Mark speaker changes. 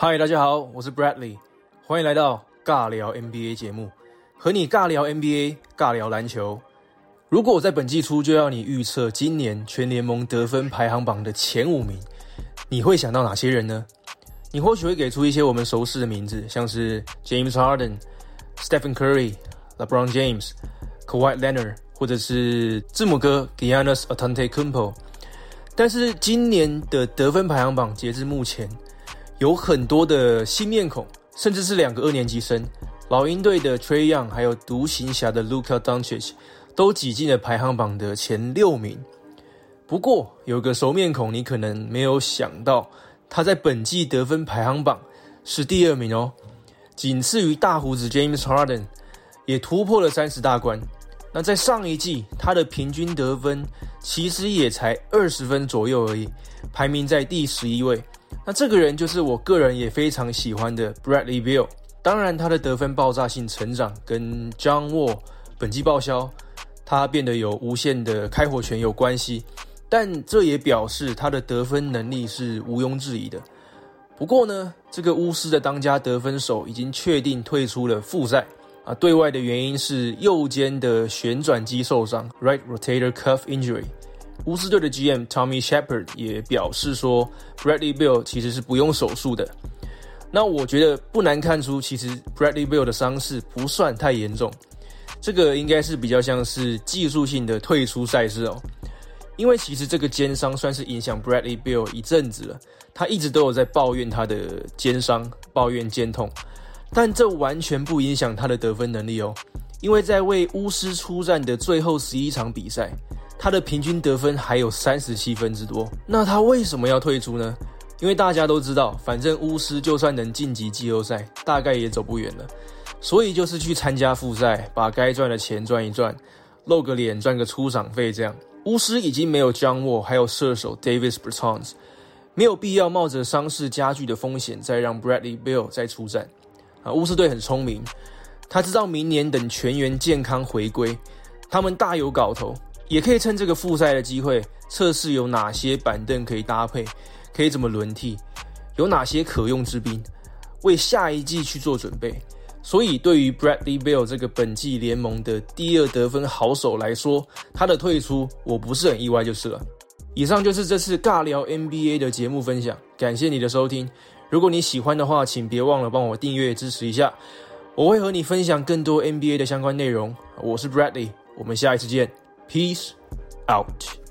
Speaker 1: 嗨，大家好，我是 Bradley， 欢迎来到尬聊 NBA 节目，和你尬聊 NBA， 尬聊篮球。如果我在本季初就要你预测今年全联盟得分排行榜的前5名，你会想到哪些人呢？你或许会给出一些我们熟识的名字，像是 James Harden、Stephen Curry、LeBron James、Kawhi Leonard， 或者是字母哥 Giannis Antetokounmpo。但是今年的得分排行榜截至目前，有很多的新面孔，甚至是2个2年级生，老鹰队的 Trae Young 还有独行侠的 Luka Doncic 都挤进了排行榜的前6名。不过有个熟面孔你可能没有想到，他在本季得分排行榜是第2名哦，仅次于大胡子 James Harden， 也突破了30大关。那在上一季他的平均得分其实也才20分左右而已，排名在第11位。那这个人就是我个人也非常喜欢的 Bradley Beal。 当然他的得分爆炸性成长跟 John Wall 本季报销，他变得有无限的开火权有关系，但这也表示他的得分能力是毋庸置疑的。不过呢，这个巫师的当家得分手已经确定退出了复赛啊，对外的原因是右肩的旋转肌受伤 （Right Rotator Cuff Injury）。巫师队的 GM Tommy Shepard 也表示说 Bradley Beal 其实是不用手术的。那我觉得不难看出，其实 Bradley Beal 的伤势不算太严重，这个应该是比较像是技术性的退出赛事哦。因为其实这个肩伤算是影响 Bradley Beal 一阵子了，他一直都有在抱怨他的肩伤，抱怨肩痛，但这完全不影响他的得分能力哦。因为在为巫师出战的最后11场比赛，他的平均得分还有37分之多。那他为什么要退出呢？因为大家都知道，反正巫师就算能晋级季后赛，大概也走不远了，所以就是去参加复赛，把该赚的钱赚一赚，露个脸赚个出场费这样。巫师已经没有 John Wall 还有射手 Davis Bertans， 没有必要冒着伤势加剧的风险再让 Bradley Beal 再出战。巫师队很聪明，他知道明年等全员健康回归，他们大有搞头，也可以趁这个复赛的机会测试有哪些板凳可以搭配，可以怎么轮替，有哪些可用之兵，为下一季去做准备。所以对于 Bradley Beal 这个本季联盟的第2得分好手来说，他的退出我不是很意外就是了。以上就是这次尬聊 NBA 的节目分享，感谢你的收听。如果你喜欢的话，请别忘了帮我订阅支持一下，我会和你分享更多 NBA 的相关内容。我是 Bradley， 我们下一次见， Peace out。